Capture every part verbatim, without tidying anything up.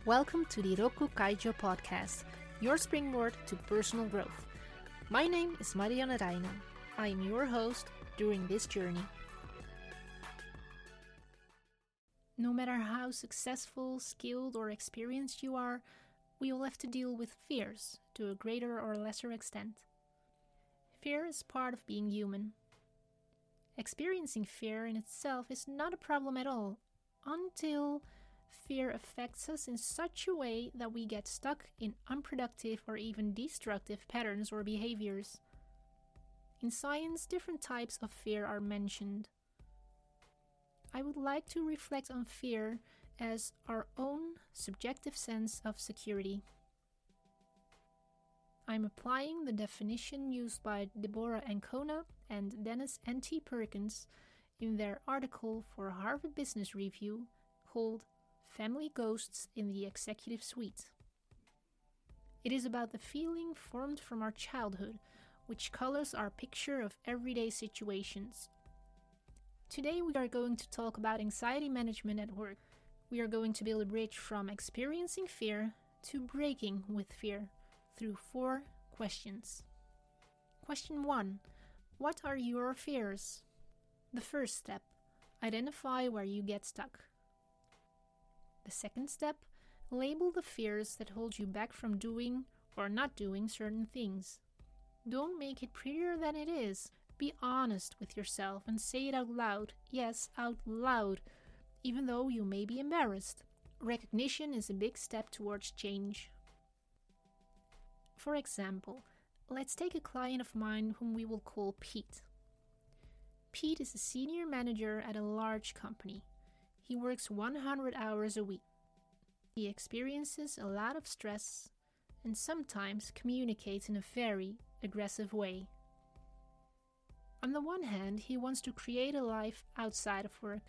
Welcome to the Roku Kaijo podcast, your springboard to personal growth. My name is Marianne Reijnen. I am your host during this journey. No matter how successful, skilled, or experienced you are, we will have to deal with fears to a greater or lesser extent. Fear is part of being human. Experiencing fear in itself is not a problem at all, until fear affects us in such a way that we get stuck in unproductive or even destructive patterns or behaviors. In science, different types of fear are mentioned. I would like to reflect on fear as our own subjective sense of security. I'm applying the definition used by Deborah Ancona and Dennis N T Perkins in their article for Harvard Business Review called Family Ghosts in the Executive Suite. It is about the feeling formed from our childhood, which colors our picture of everyday situations. Today we are going to talk about anxiety management at work. We are going to build a bridge from experiencing fear to breaking with fear through four questions. Question one. What are your fears? The first step. Identify where you get stuck. The second step. Label the fears that hold you back from doing or not doing certain things. Don't make it prettier than it is. Be honest with yourself and say it out loud. Yes, out loud, even though you may be embarrassed. Recognition is a big step towards change. For example, let's take a client of mine whom we will call Pete. Pete is a senior manager at a large company. He works one hundred hours a week. He experiences a lot of stress and sometimes communicates in a very aggressive way. On the one hand, he wants to create a life outside of work.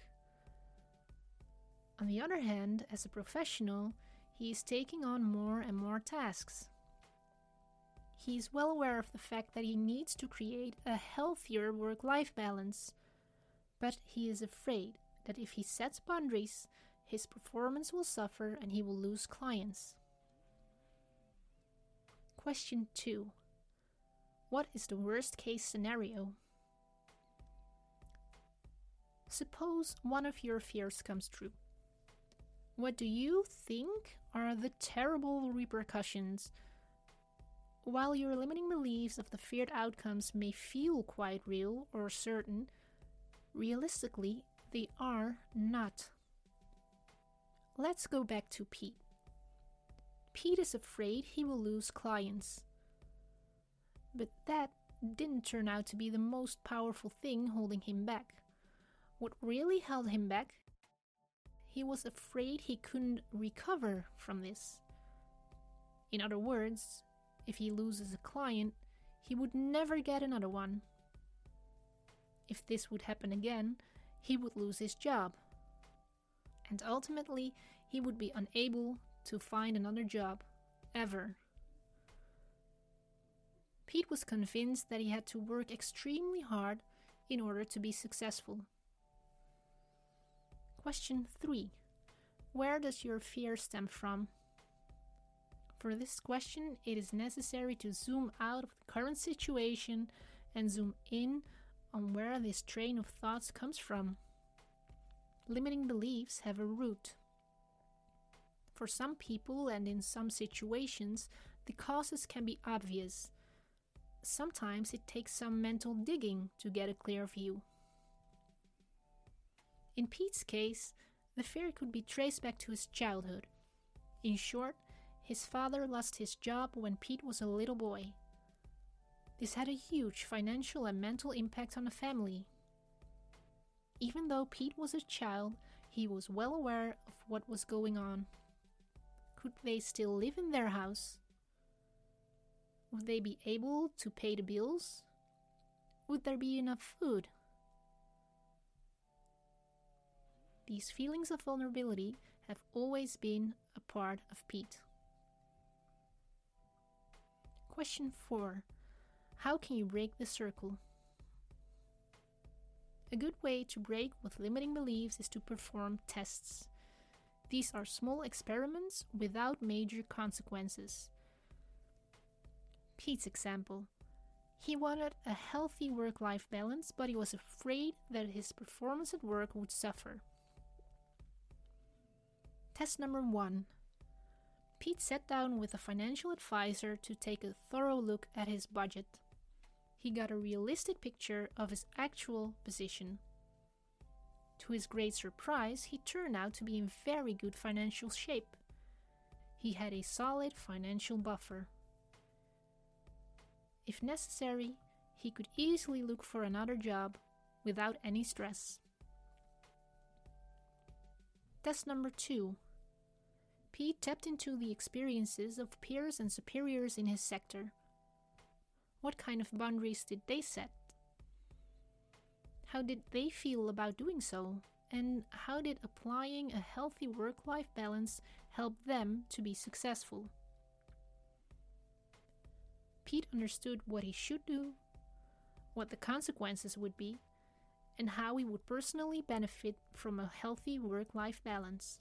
On the other hand, as a professional, he is taking on more and more tasks. He is well aware of the fact that he needs to create a healthier work-life balance, but he is afraid that if he sets boundaries, his performance will suffer and he will lose clients. Question two. What is the worst case scenario? Suppose one of your fears comes true. What do you think are the terrible repercussions? While your limiting beliefs of the feared outcomes may feel quite real or certain, realistically, they are not. Let's go back to Pete. Pete is afraid he will lose clients. But that didn't turn out to be the most powerful thing holding him back. What really held him back? He was afraid he couldn't recover from this. In other words, if he loses a client, he would never get another one. If this would happen again, he would lose his job. And ultimately, he would be unable to find another job, ever. Pete was convinced that he had to work extremely hard in order to be successful. Question three. Where does your fear stem from? For this question, it is necessary to zoom out of the current situation and zoom in on where this train of thoughts comes from. Limiting beliefs have a root. For some people and in some situations, the causes can be obvious. Sometimes it takes some mental digging to get a clear view. In Pete's case, the fear could be traced back to his childhood. In short, his father lost his job when Pete was a little boy. This had a huge financial and mental impact on the family. Even though Pete was a child, he was well aware of what was going on. Could they still live in their house? Would they be able to pay the bills? Would there be enough food? These feelings of vulnerability have always been a part of Pete. Question four. How can you break the circle? A good way to break with limiting beliefs is to perform tests. These are small experiments without major consequences. Pete's example. He wanted a healthy work-life balance, but he was afraid that his performance at work would suffer. Test number one. Pete sat down with a financial advisor to take a thorough look at his budget. He got a realistic picture of his actual position. To his great surprise, he turned out to be in very good financial shape. He had a solid financial buffer. If necessary, he could easily look for another job without any stress. Test number two. Pete tapped into the experiences of peers and superiors in his sector. What kind of boundaries did they set? How did they feel about doing so? And how did applying a healthy work-life balance help them to be successful? Pete understood what he should do, what the consequences would be, and how he would personally benefit from a healthy work-life balance.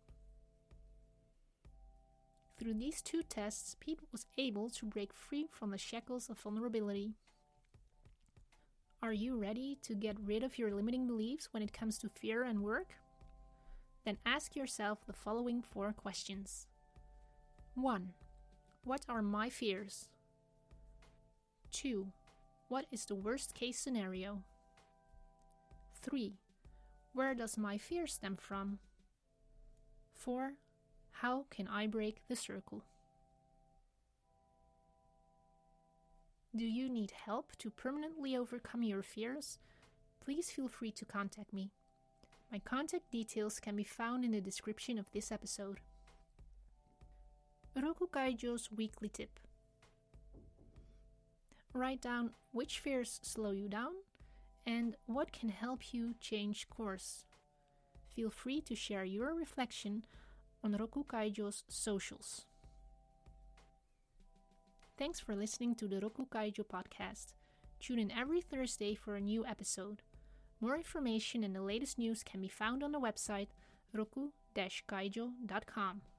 Through these two tests, Pete was able to break free from the shackles of vulnerability. Are you ready to get rid of your limiting beliefs when it comes to fear and work? Then ask yourself the following four questions. one. What are my fears? two. What is the worst case scenario? three. Where does my fear stem from? four. How can I break the circle? Do you need help to permanently overcome your fears? Please feel free to contact me. My contact details can be found in the description of this episode. Roku Kaijo's weekly tip. Write down which fears slow you down and what can help you change course. Feel free to share your reflection on Roku Kaijo's socials. Thanks for listening to the Roku Kaijo podcast. Tune in every Thursday for a new episode. More information and the latest news can be found on the website roku dash kaijo dot com.